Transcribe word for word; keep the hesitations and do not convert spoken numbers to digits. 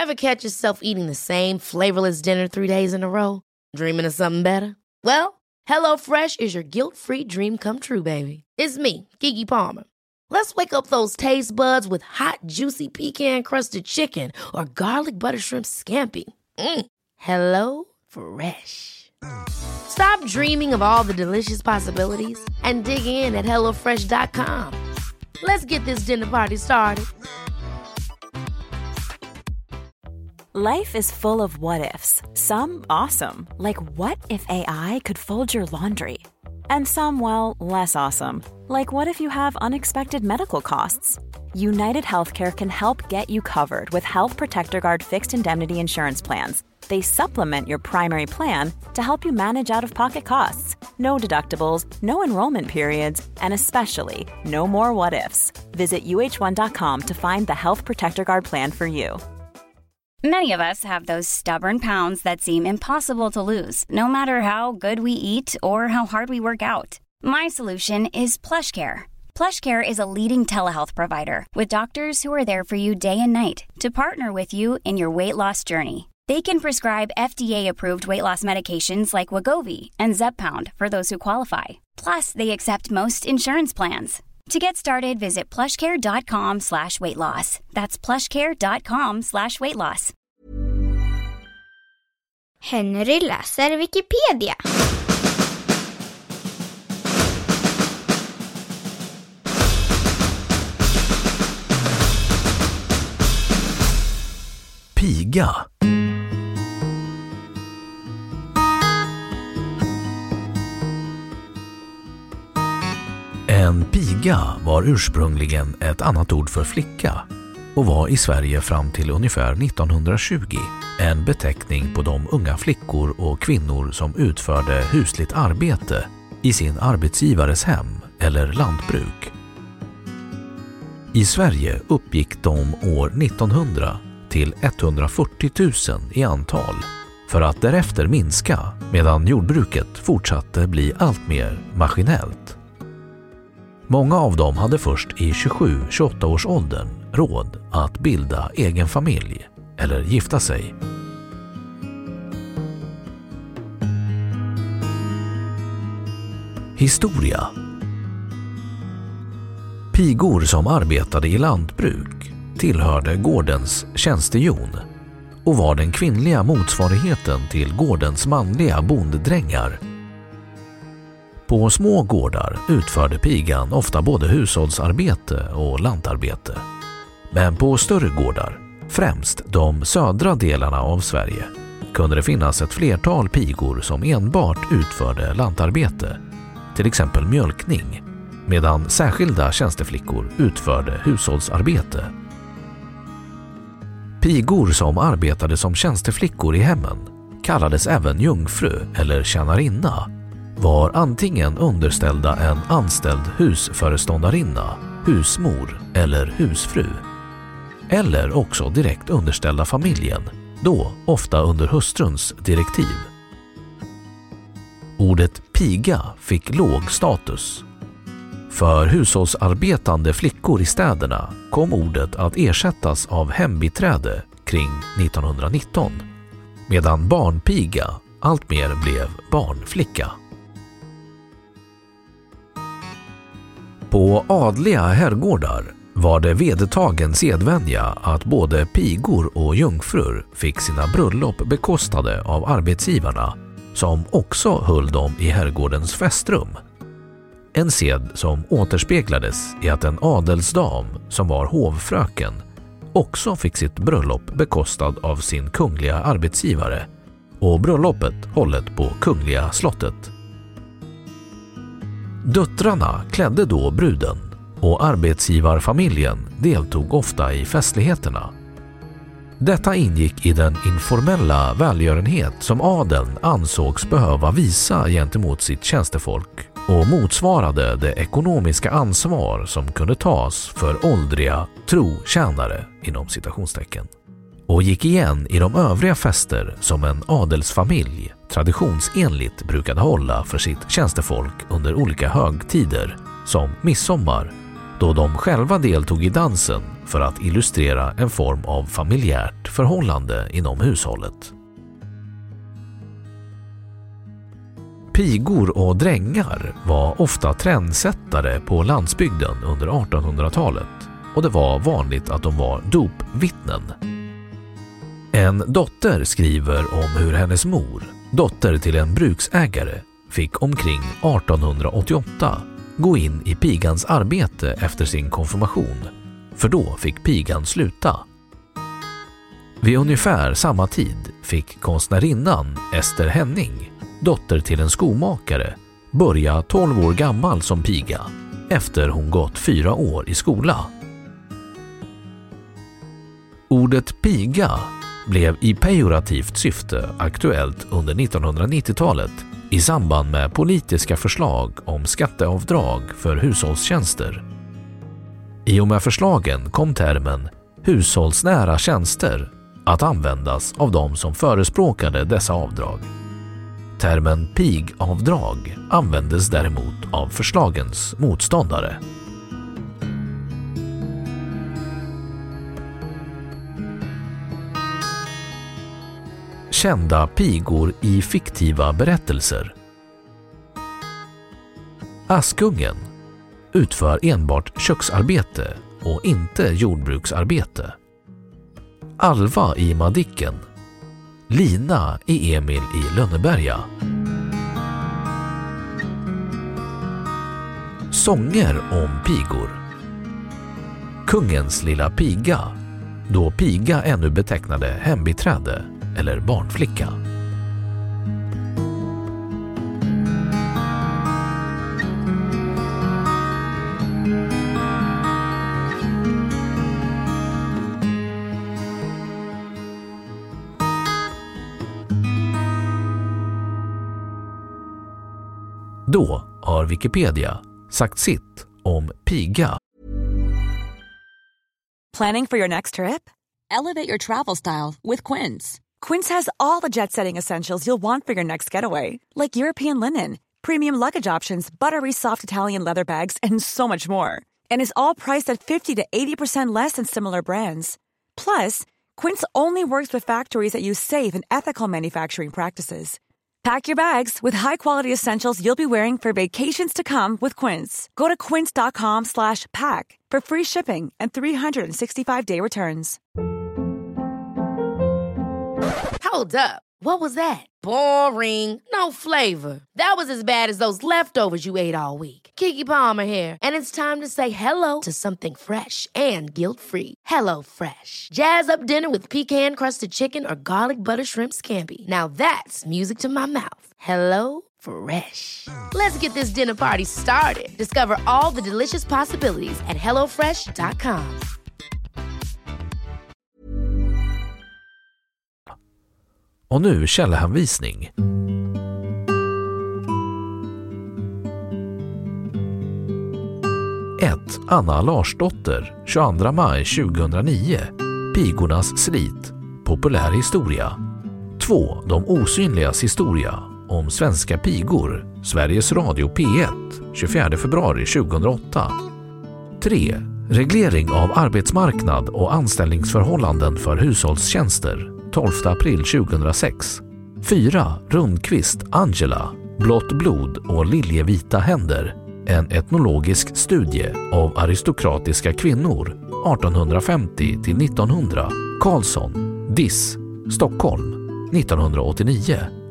Ever catch yourself eating the same flavorless dinner three days in a row? Dreaming of something better? Well, HelloFresh is your guilt-free dream come true, baby. It's me, Keke Palmer. Let's wake up those taste buds with hot, juicy pecan-crusted chicken or garlic butter shrimp scampi. Mm. Hello Fresh. Stop dreaming of all the delicious possibilities and dig in at hello fresh dot com. Let's get this dinner party started. Life is full of what-ifs. Some awesome, like what if A I could fold your laundry? And some, well, less awesome, like what if you have unexpected medical costs? United Healthcare can help get you covered with Health Protector Guard fixed indemnity insurance plans. They supplement your primary plan to help you manage out-of-pocket costs. No deductibles, no enrollment periods, and especially no more what-ifs. Visit U H one dot com to find the Health Protector Guard plan for you. Many of us have those stubborn pounds that seem impossible to lose, no matter how good we eat or how hard we work out. My solution is PlushCare. PlushCare is a leading telehealth provider with doctors who are there for you day and night to partner with you in your weight loss journey. They can prescribe F D A-approved weight loss medications like Wegovy and Zepbound for those who qualify. Plus, they accept most insurance plans. To get started, visit plushcare.com slash weight loss. That's plushcare.com slash weight loss. Henry läser Wikipedia. Piga. En piga var ursprungligen ett annat ord för flicka och var i Sverige fram till ungefär nittonhundratjugo en beteckning på de unga flickor och kvinnor som utförde husligt arbete i sin arbetsgivares hem eller lantbruk. I Sverige uppgick de år nittonhundra till etthundrafyrtio tusen i antal för att därefter minska medan jordbruket fortsatte bli allt mer maskinellt. Många av dem hade först i tjugosju till tjugoåtta års åldern råd att bilda egen familj eller gifta sig. Historia. Pigor som arbetade i lantbruk tillhörde gårdens tjänstehjon och var den kvinnliga motsvarigheten till gårdens manliga bonddrängar. På små gårdar utförde pigan ofta både hushållsarbete och lantarbete. Men på större gårdar, främst de södra delarna av Sverige, kunde det finnas ett flertal pigor som enbart utförde lantarbete, till exempel mjölkning, medan särskilda tjänsteflickor utförde hushållsarbete. Pigor som arbetade som tjänsteflickor i hemmen kallades även jungfru eller tjänarinna, var antingen underställda en anställd husföreståndarinna, husmor eller husfru, eller också direkt underställda familjen, då ofta under hustruns direktiv. Ordet piga fick låg status. För hushållsarbetande flickor i städerna kom ordet att ersättas av hembiträde kring nittonhundranitton, medan barnpiga alltmer blev barnflicka. På adliga herrgårdar var det vedertagen sedvänja att både pigor och jungfrur fick sina bröllop bekostade av arbetsgivarna, som också höll dem i herrgårdens festrum. En sed som återspeglades i att en adelsdam som var hovfröken också fick sitt bröllop bekostad av sin kungliga arbetsgivare och bröllopet hållet på kungliga slottet. Döttrarna klädde då bruden och arbetsgivarfamiljen deltog ofta i festligheterna. Detta ingick i den informella välgörenhet som adeln ansågs behöva visa gentemot sitt tjänstefolk och motsvarade det ekonomiska ansvar som kunde tas för åldriga trotjänare inom citationstecken, och gick igen i de övriga fester som en adelsfamilj traditionsenligt brukade hålla för sitt tjänstefolk under olika högtider som midsommar, då de själva deltog i dansen för att illustrera en form av familjärt förhållande inom hushållet. Pigor och drängar var ofta trendsättare på landsbygden under artonhundratalet och det var vanligt att de var dopvittnen. En dotter skriver om hur hennes mor, dotter till en bruksägare, fick omkring artonhundraåttioåtta gå in i pigans arbete efter sin konfirmation, för då fick pigan sluta. Vid ungefär samma tid fick konstnärinnan Ester Henning, dotter till en skomakare, börja tolv år gammal som piga efter hon gått fyra år i skola. Ordet piga blev i pejorativt syfte aktuellt under nittonhundranittiotalet i samband med politiska förslag om skatteavdrag för hushållstjänster. I och med förslagen kom termen hushållsnära tjänster att användas av de som förespråkade dessa avdrag. Termen pigavdrag användes däremot av förslagens motståndare. Kända pigor i fiktiva berättelser. Askungen utför enbart köksarbete och inte jordbruksarbete. Alva i Madicken. Lina i Emil i Lönneberga. Sånger om pigor. Kungens lilla piga, då piga ännu betecknade hembiträde eller barnflicka. Då har Wikipedia sagt sitt om piga. Planning for your next trip? Elevate your travel style with Quince. Quince has all the jet-setting essentials you'll want for your next getaway, like European linen, premium luggage options, buttery soft Italian leather bags, and so much more. And is all priced at fifty to eighty percent less than similar brands. Plus, Quince only works with factories that use safe and ethical manufacturing practices. Pack your bags with high-quality essentials you'll be wearing for vacations to come with Quince. Go to quince.com slash pack for free shipping and three sixty-five day returns. Hold up. What was that? Boring. No flavor. That was as bad as those leftovers you ate all week. Keke Palmer here, and it's time to say hello to something fresh and guilt-free. Hello Fresh. Jazz up dinner with pecan-crusted chicken or garlic butter shrimp scampi. Now that's music to my mouth. Hello Fresh. Let's get this dinner party started. Discover all the delicious possibilities at hello fresh dot com. Och nu källhänvisning. ett. Anna Larsdotter, tjugoandra maj tjugohundranio. Pigornas slit. Populär historia. två. De osynligas historia. Om svenska pigor. Sveriges Radio P ett, tjugofjärde februari tjugohundraåtta. tre. Reglering av arbetsmarknad och anställningsförhållanden för hushållstjänster. tolfte april tjugohundrasex. fyra. Rundqvist, Angela. Blått blod och liljevita händer. En etnologisk studie av aristokratiska kvinnor artonhundrafemtio till nittonhundra. Karlsson, Diss, Stockholm nittonhundraåttionio.